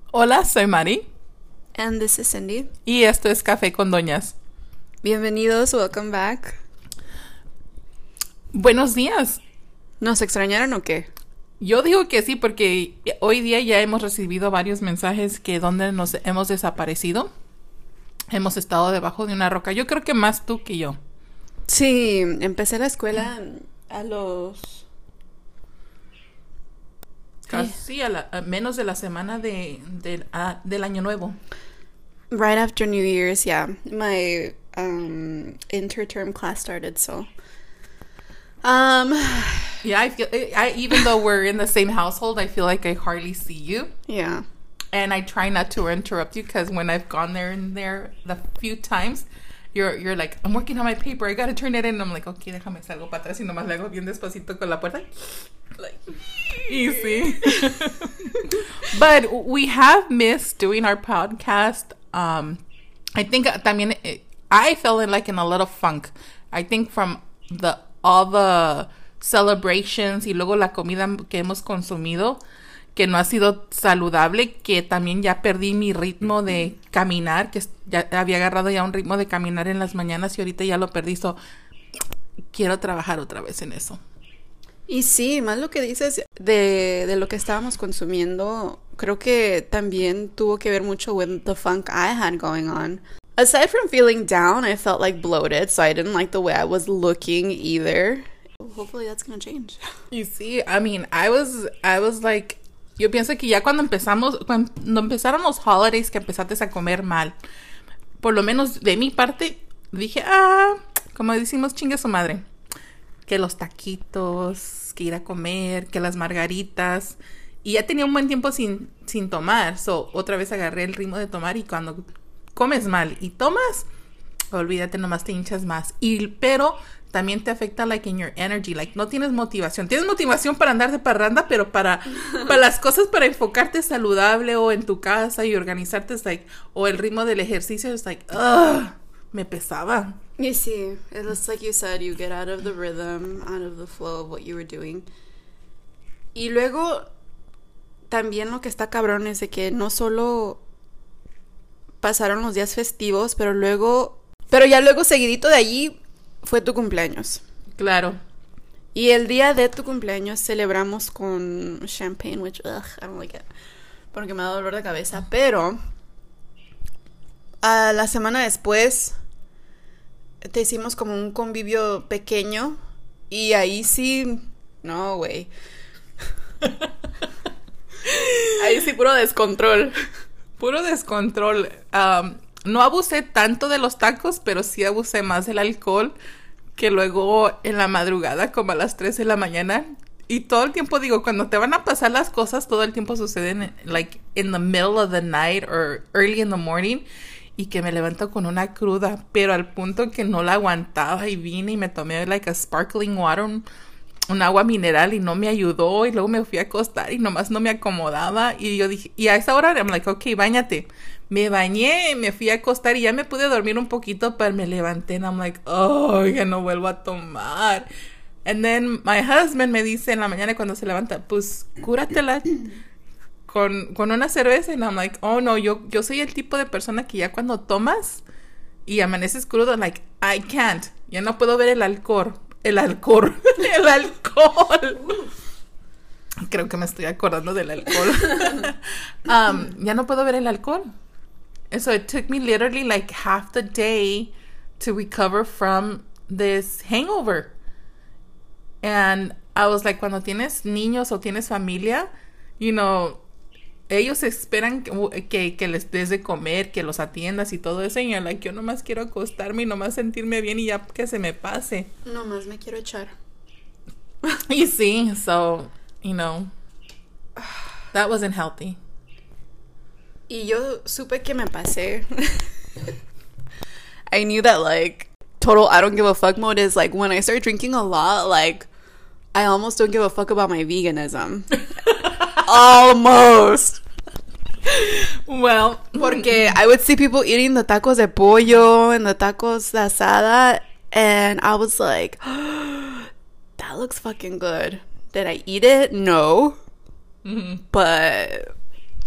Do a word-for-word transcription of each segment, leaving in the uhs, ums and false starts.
Hola, soy Mari. And this is Cindy. Y esto es Café con Doñas. Bienvenidos, welcome back. Buenos días. ¿Nos extrañaron o qué? Yo digo que sí, porque hoy día ya hemos recibido varios mensajes que donde nos hemos desaparecido. Hemos estado debajo de una roca. Yo creo que más tú que yo. Sí, empecé la escuela a los... Casi a, la, a menos de la semana de, de, a, del Año Nuevo. Right after New Year's, yeah. My um, interterm class started, so... Um, yeah, I feel, I, even though we're in the same household, I feel like I hardly see you. Yeah. And I try not to interrupt you because when I've gone there and there the few times, you're you're like, I'm working on my paper, I gotta turn it in. And I'm like, okay, déjame salgo para atrás y nomás le hago bien despacito con la puerta. Like, easy. But we have missed doing our podcast. Um, I think también, I fell in like in a lot of funk. I think from the all the celebrations y luego la comida que hemos consumido, que no ha sido saludable, que también ya perdí mi ritmo de caminar, que ya había agarrado ya un ritmo de caminar en las mañanas y ahorita ya lo perdí, so quiero trabajar otra vez en eso. Y sí, más lo que dices de, de lo que estábamos consumiendo, creo que también tuvo que ver mucho with the funk I had going on. Aside from feeling down, I felt like bloated, so I didn't like the way I was looking either. Hopefully that's gonna change. You see, I mean, I was, I was like, yo pienso que ya cuando empezamos, cuando empezaron los holidays, que empezaste a comer mal, por lo menos de mi parte, dije, ah, como decimos, chingue su madre, que los taquitos, que ir a comer, que las margaritas, y ya tenía un buen tiempo sin, sin tomar, so otra vez agarré el ritmo de tomar y cuando comes mal y tomas, olvídate, nomás te hinchas más. Y pero también te afecta like in your energy, like no tienes motivación. Tienes motivación para andar de parranda, pero para para las cosas, para enfocarte saludable o en tu casa y organizarte, es like, o el ritmo del ejercicio es like, ugh, me pesaba. You see, it looks like you said, you get out of the rhythm, out of the flow of what you were doing. Y luego también lo que está cabrón es de que no solo pasaron los días festivos, pero luego, pero ya luego seguidito de allí fue tu cumpleaños. Claro. Y el día de tu cumpleaños celebramos con champagne, which, ugh, I don't like it, porque me da dolor de cabeza. Pero a la semana después te hicimos como un convivio pequeño y ahí sí, no, güey. Ahí sí puro descontrol. Puro descontrol. Um, no abusé tanto de los tacos, pero sí abusé más del alcohol, que luego en la madrugada, como a las tres de la mañana, y todo el tiempo digo, cuando te van a pasar las cosas, todo el tiempo suceden like in the middle of the night or early in the morning, y que me levanto con una cruda, pero al punto que no la aguantaba y vine y me tomé like a sparkling water, un, un agua mineral y no me ayudó y luego me fui a acostar y nomás no me acomodaba y yo dije, y a esa hora I'm like, ok, báñate. Me bañé, me fui a acostar y ya me pude dormir un poquito, pero me levanté and I'm like, oh, ya no vuelvo a tomar. And then my husband me dice en la mañana cuando se levanta, pues cúratela con, con una cerveza. And I'm like, oh no, yo, yo soy el tipo de persona que ya cuando tomas y amaneces crudo, like, I can't. Ya no puedo ver el alcohol. El alcohol. El alcohol. Creo que me estoy acordando del alcohol. um, ya no puedo ver el alcohol. So it took me literally like half the day to recover from this hangover. And I was like, cuando tienes niños o tienes familia, you know, ellos esperan que, que, que les des de comer, que los atiendas y todo eso. Y yo, like, yo nomás quiero acostarme y nomás sentirme bien y ya que se me pase. Nomás me quiero echar. Y sí, so, you know, that wasn't healthy. Y yo supe que me pasé. I knew that, like, total I don't give a fuck mode is, like, when I start drinking a lot, like, I almost don't give a fuck about my veganism. Almost. Well, porque I would see people eating the tacos de pollo and the tacos de asada, and I was like, oh, that looks fucking good. Did I eat it? No. Mm-hmm. But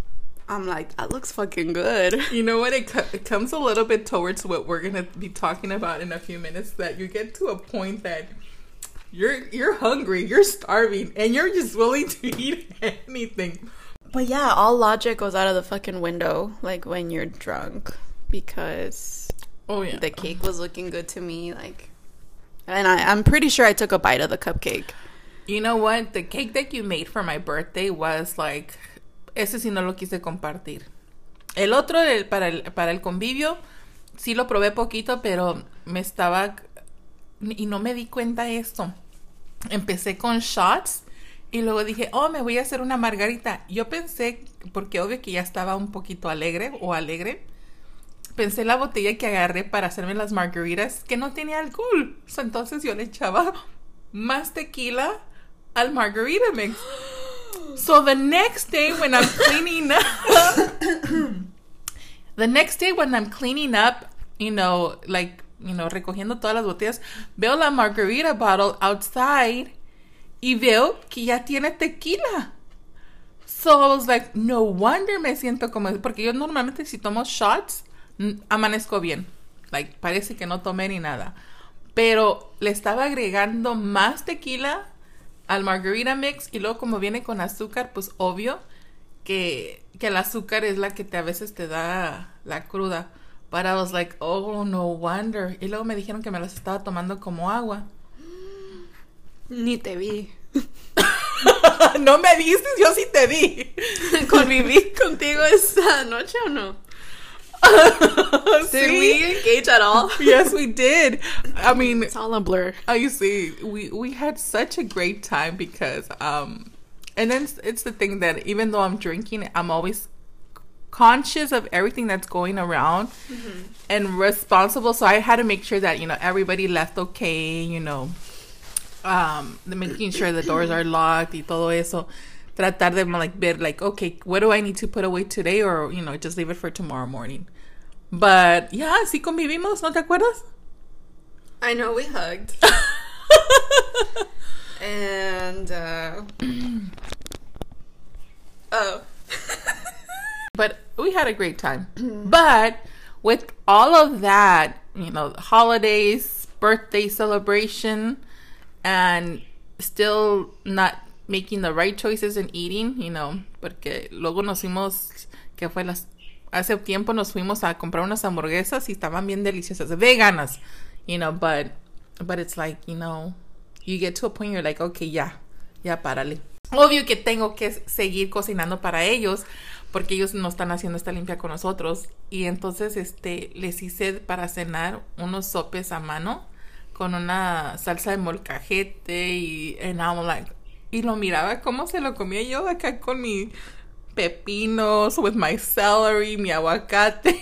I'm like, that looks fucking good. You know what? It, co- it comes a little bit towards what we're going to be talking about in a few minutes, that you get to a point that you're you're hungry, you're starving, and you're just willing to eat anything. But yeah, all logic goes out of the fucking window, like, when you're drunk, because oh yeah, the cake was looking good to me, like, and I, I'm pretty sure I took a bite of the cupcake. You know what? The cake that you made for my birthday was like, ese sí no lo quise compartir. El otro, el, para, el, para el convivio, sí lo probé poquito, pero me estaba, y no me di cuenta de esto. Empecé con shots y luego dije, oh, me voy a hacer una margarita. Yo pensé, porque obvio que ya estaba un poquito alegre o alegre, pensé la botella que agarré para hacerme las margaritas que no tenía alcohol. So, entonces yo le echaba más tequila al margarita mix. So the next day when I'm cleaning up, the next day when I'm cleaning up, you know, like, you know, recogiendo todas las botellas, veo la margarita bottle outside y veo que ya tiene tequila. So I was like, no wonder me siento como, porque yo normalmente si tomo shots, amanezco bien. Like, parece que no tomé ni nada. Pero le estaba agregando más tequila al margarita mix y luego como viene con azúcar, pues obvio que, que el azúcar es la que te, a veces te da la cruda. But I was like, oh, no wonder. Y luego me dijeron que me las estaba tomando como agua. Ni te vi. No me viste, yo sí te vi. ¿Conviví contigo esta noche o no? Did we engage at all? Yes, we did. I mean, it's all a blur. I see. We we had such a great time because um, and then it's, it's the thing that even though I'm drinking, I'm always conscious of everything that's going around mm-hmm. and responsible. So I had to make sure that, you know, everybody left okay. You know, um, making sure the doors are locked y todo eso. Tratar de like ver like, okay, what do I need to put away today, or you know, just leave it for tomorrow morning. But yeah, sí convivimos, ¿no te acuerdas? I know we hugged. And uh oh. But we had a great time. But with all of that, you know, holidays, birthday celebration, and still not making the right choices in eating, you know, porque luego nos fuimos, que fue las, hace tiempo nos fuimos a comprar unas hamburguesas y estaban bien deliciosas, veganas, you know, but, but it's like, you know, you get to a point you're like, okay, ya, ya párale. Obvio que tengo que seguir cocinando para ellos, porque ellos no están haciendo esta limpia con nosotros, y entonces, este, les hice para cenar unos sopes a mano, con una salsa de molcajete, y, and I'm like, y lo miraba cómo se lo comía yo acá con mi pepinos, with my celery, mi aguacate.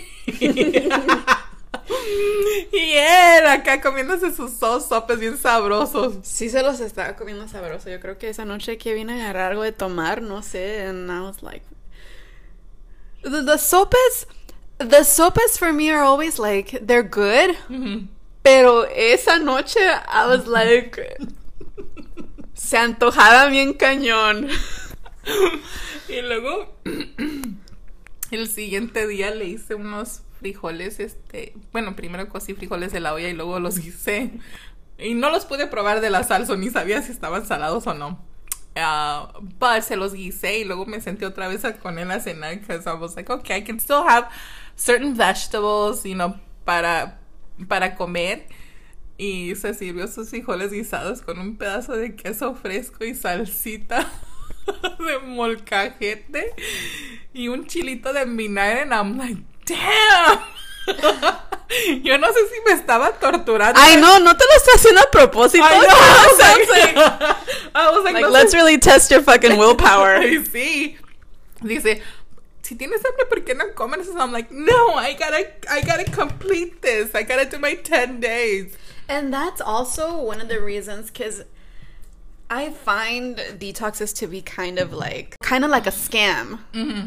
Y él acá comiéndose sus dos sopes bien sabrosos. Sí se los estaba comiendo sabroso. Yo creo que esa noche que vine a agarrar algo de tomar, no sé, and I was like... The, the sopes, the sopes for me are always like, they're good, mm-hmm. Pero esa noche I was like... Se antojaba bien cañón. Y luego el siguiente día le hice unos frijoles, este, bueno, primero cocí frijoles de la olla y luego los guisé. Y no los pude probar de la salsa, ni sabía si estaban salados o no. Uh, but se los guisé y luego me senté otra vez a, con él a cenar, because I was like, okay, I can still have certain vegetables, you know, para, para comer. Y se sirvió sus frijoles guisados con un pedazo de queso fresco y salsita de molcajete y un chilito de vinagre. And I'm like, damn. Yo no sé si me estaba torturando. Ay, no, no te lo estás haciendo a propósito. I know. I was like, I was like, like no let's sé. really test your fucking willpower. Sí. Dice, si tienes hambre, ¿por qué no comes? So I'm like, no, I gotta, I gotta complete this. I gotta do my ten days. And that's also one of the reasons, because I find detoxes to be kind of like, kind of like a scam. Mm-hmm.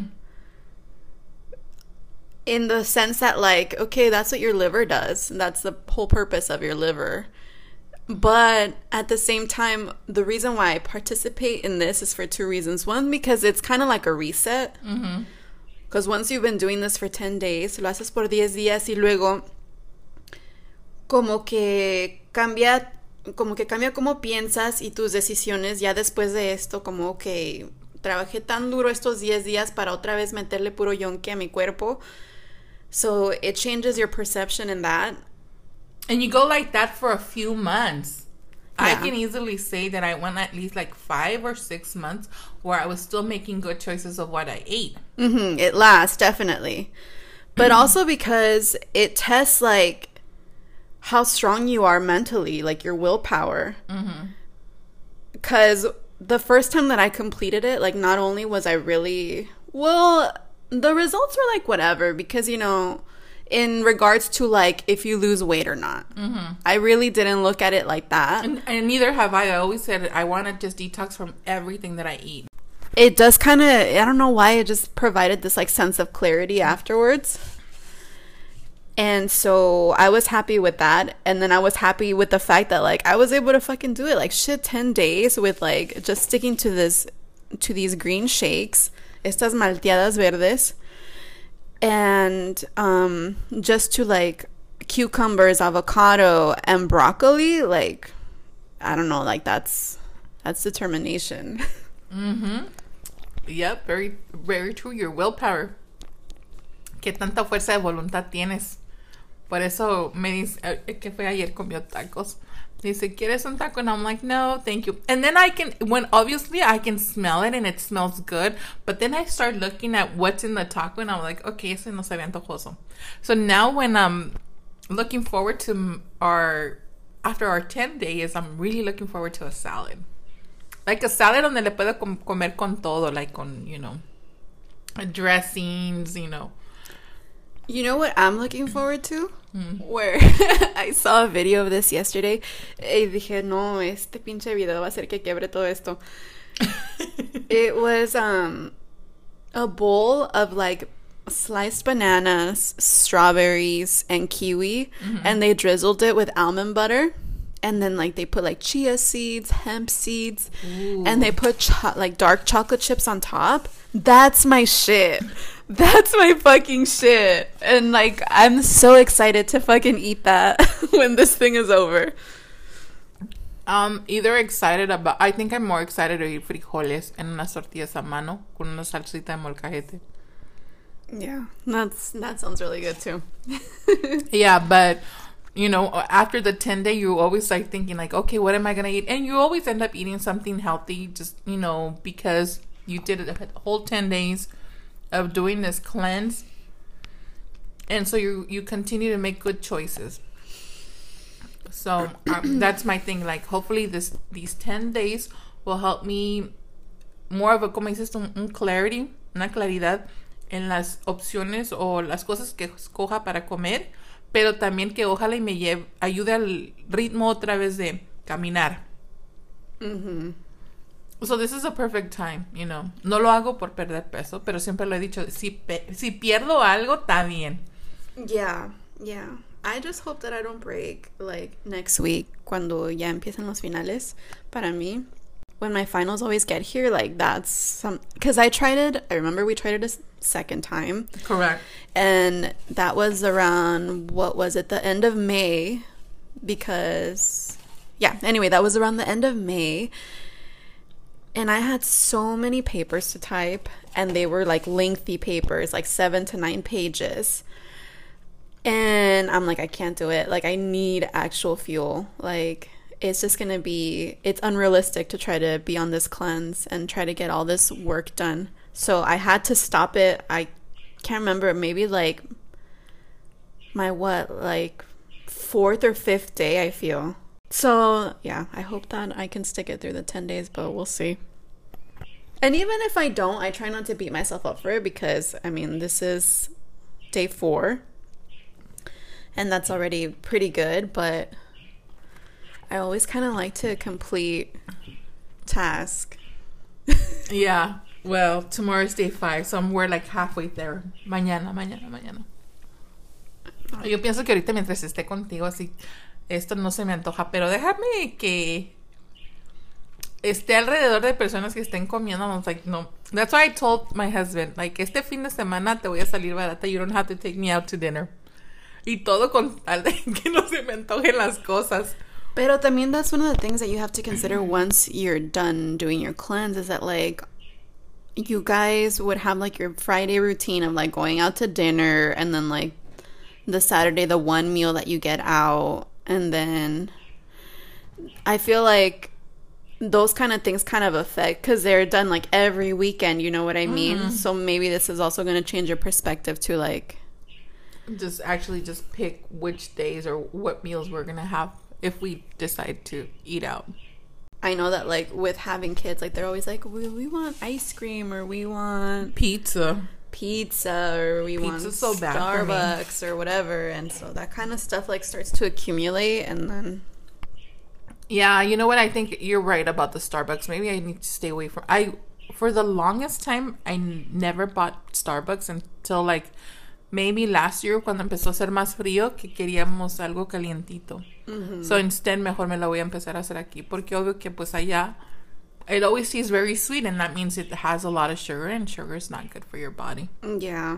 In the sense that, like, okay, that's what your liver does. That's the whole purpose of your liver. But at the same time, the reason why I participate in this is for two reasons. One, because it's kind of like a reset. Mm-hmm. Because once you've been doing this for ten days, lo haces por diez días y luego como que cambia, como que cambia cómo piensas y tus decisiones ya después de esto, como que trabajé tan duro estos diez días para otra vez meterle puro yonke a mi cuerpo. So it changes your perception in that. And you go like that for a few months. Yeah. I can easily say that I went at least like five or six months where I was still making good choices of what I ate. Mm-hmm. It lasts, definitely. But also because it tests like how strong you are mentally, like your willpower. Because the first time that I completed it, like not only was I really, well, the results were like whatever, because, you know, in regards to like if you lose weight or not. Mm-hmm. I really didn't look at it like that. And, and neither have I. I always said I want to just detox from everything that I eat. It does kind of, I don't know why, it just provided this like sense of clarity afterwards. And so I was happy with that. And then I was happy with the fact that like I was able to fucking do it. Like shit, ten days with like just sticking to this, to these green shakes. Estas malteadas verdes. And um, just to like cucumbers, avocado, and broccoli. Like, I don't know, like that's, that's determination. Mm-hmm. Yep, very, very true. Your willpower. ¿Qué tanta fuerza de voluntad tienes? Por eso me dice, eh, que fue ayer comió tacos. Dice, ¿quieres un taco? And I'm like, no, thank you. And then I can, when obviously I can smell it and it smells good, but then I start looking at what's in the taco and I'm like, okay, ese no se ve antojoso. So now when I'm looking forward to our, after our ten days, I'm really looking forward to a salad. Like a salad donde le puedo com- comer con todo, like con, you know, dressings, you know. You know what I'm looking forward to? Mm. Where I saw a video of this yesterday y dije, no, este pinche video va a hacer que quiebre todo esto. It was um a bowl of like sliced bananas, strawberries, and kiwi, mm-hmm. and they drizzled it with almond butter. And then, like, they put, like, chia seeds, hemp seeds, Ooh. And they put, cho- like, dark chocolate chips on top. That's my shit. That's my fucking shit. And, like, I'm so excited to fucking eat that when this thing is over. Um, either excited about... I think I'm more excited to eat frijoles en unas tortillas a mano con una salsita de molcajete. Yeah, that's that sounds really good, too. Yeah, but... You know, after the ten day, you always like thinking like, okay, what am I going to eat? And you always end up eating something healthy just, you know, because you did a whole ten days of doing this cleanse. And so you, you continue to make good choices. So um, that's my thing. Like, hopefully this these ten days will help me more of a, como dices, un, un clarity, una claridad en las opciones o las cosas que escoja para comer. Pero también que ojalá y me lleve, ayude al ritmo otra vez de caminar. Mm-hmm. So this is a perfect time, you know. No lo hago por perder peso, pero siempre lo he dicho, si, pe- si pierdo algo, está bien. Yeah, yeah. I just hope that I don't break, like, next week, cuando ya empiezan los finales, para mí. When my finals always get here, like, that's some... Because I tried it, I remember we tried it a second time. Correct. And that was around, what was it, the end of May, because... Yeah, anyway, that was around the end of May. And I had so many papers to type, and they were, like, lengthy papers, like seven to nine pages. And I'm like, I can't do it. Like, I need actual fuel. Like... It's just going to be, it's unrealistic to try to be on this cleanse and try to get all this work done. So I had to stop it. I can't remember, maybe like my what, like fourth or fifth day, I feel. So yeah, I hope that I can stick it through the ten days, but we'll see. And even if I don't, I try not to beat myself up for it because, I mean, this is day four. And that's already pretty good, but... I always kind of like to complete task. Yeah. Well, tomorrow's day five, so we're like halfway there. Mañana, mañana, mañana. Yo pienso que ahorita mientras esté contigo, así, esto no se me antoja, pero déjame que esté alrededor de personas que estén comiendo. I was like, no, That's why I told my husband, like, este fin de semana te voy a salir barata. You don't have to take me out to dinner. Y todo con tal de que no se me antojen las cosas. Pero también that's one of the things that you have to consider once you're done doing your cleanse is that, like, you guys would have, like, your Friday routine of, like, going out to dinner and then, like, the Saturday, the one meal that you get out. And then I feel like those kind of things kind of affect because they're done, like, every weekend. You know what I mean? Mm-hmm. So maybe this is also going to change your perspective to, like... Just actually just pick which days or what meals we're going to have if we decide to eat out. I know that, like, with having kids, like, they're always like, we, we want ice cream or we want... Pizza. Pizza or we Pizza's want so bad Starbucks or whatever. And so that kind of stuff, like, starts to accumulate and then... Yeah, you know what? I think you're right about the Starbucks. Maybe I need to stay away from... I For the longest time, I n- never bought Starbucks until, like... Maybe last year cuando empezó a ser más frío que queríamos algo calientito. Mm-hmm. So instead mejor me lo voy a empezar a hacer aquí porque obvio que pues allá it always tastes very sweet and that means it has a lot of sugar and sugar is not good for your body. Yeah.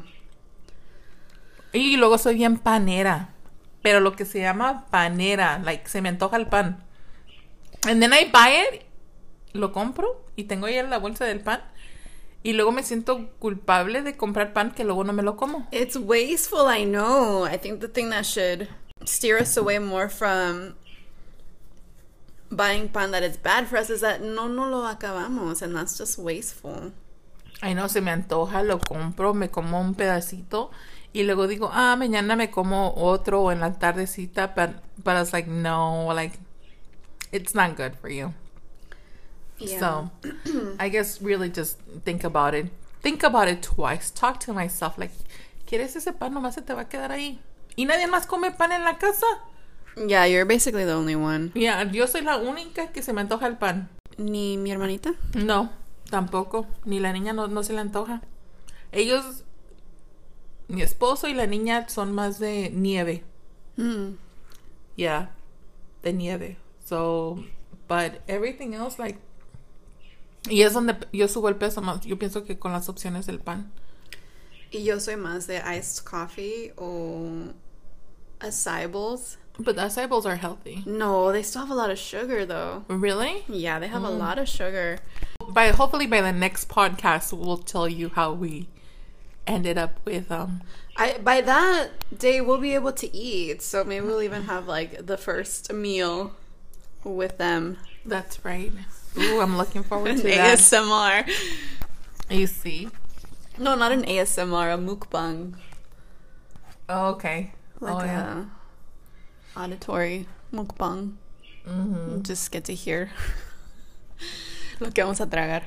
Y luego soy bien panera. Pero lo que se llama panera, like se me antoja el pan. And then I buy it, lo compro y tengo ahí la bolsa del pan. Y luego me siento culpable de comprar pan que luego no me lo como. It's wasteful, I know. I think the thing that should steer us away more from buying pan that is bad for us is that no no lo acabamos, and that's just wasteful. Ay, no, se me antoja, lo compro, me como un pedacito y luego digo, ah, mañana me como otro o en la tardecita, but, but it's like, no, like, it's not good for you. Yeah. So, I guess really just think about it. Think about it twice. Talk to myself like, ¿quieres ese pan? Nomás se te va a quedar ahí. ¿Y nadie más come pan en la casa? Yeah, you're basically the only one. Yeah, yo soy la única que se me antoja el pan. ¿Ni mi hermanita? No, tampoco. Ni la niña no, no se le antoja. Ellos, mi esposo y la niña son más de nieve. Mm. Yeah, de nieve. So, but everything else, like, y es donde yo subo el peso más. Yo pienso que con las opciones del pan. Y yo soy más de iced coffee o acai bowls. But the acai bowls are healthy. No, they still have a lot of sugar, though. Really? Yeah, they have mm. a lot of sugar. By hopefully by the next podcast, we'll tell you how we ended up with um. I by that day we'll be able to eat, so maybe we'll even have like the first meal with them. That's right. Ooh, I'm looking forward to an that. A S M R. You see? No, not an A S M R, a mukbang. Oh, okay. Like oh, a yeah. auditory mukbang. Mm-hmm. Just get to hear lo que vamos a tragar.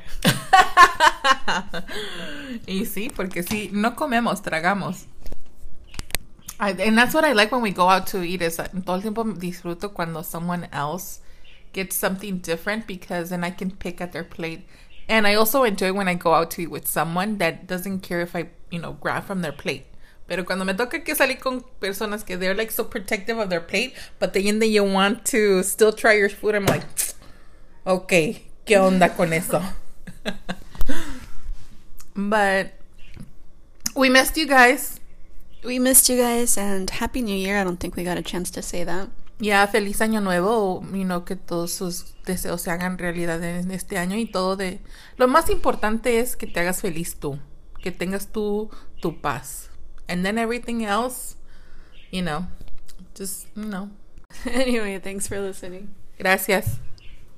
Y sí, porque sí, no comemos, tragamos. I, and that's what I like when we go out to eat is that todo el tiempo disfruto cuando someone else gets something different because then I can pick at their plate. And I also enjoy when I go out to eat with someone that doesn't care if I, you know, grab from their plate. Pero cuando me toca que salir con personas que they're like so protective of their plate, but the end that you want to still try your food, I'm like, okay, ¿qué onda con eso? But we missed you guys. We missed you guys and Happy New Year. I don't think we got a chance to say that. Ya, feliz año nuevo, you know, que todos sus deseos se hagan realidad en este año y todo de... Lo más importante es que te hagas feliz tú, que tengas tú tu paz. And then everything else, you know, just, you know. Anyway, thanks for listening. Gracias.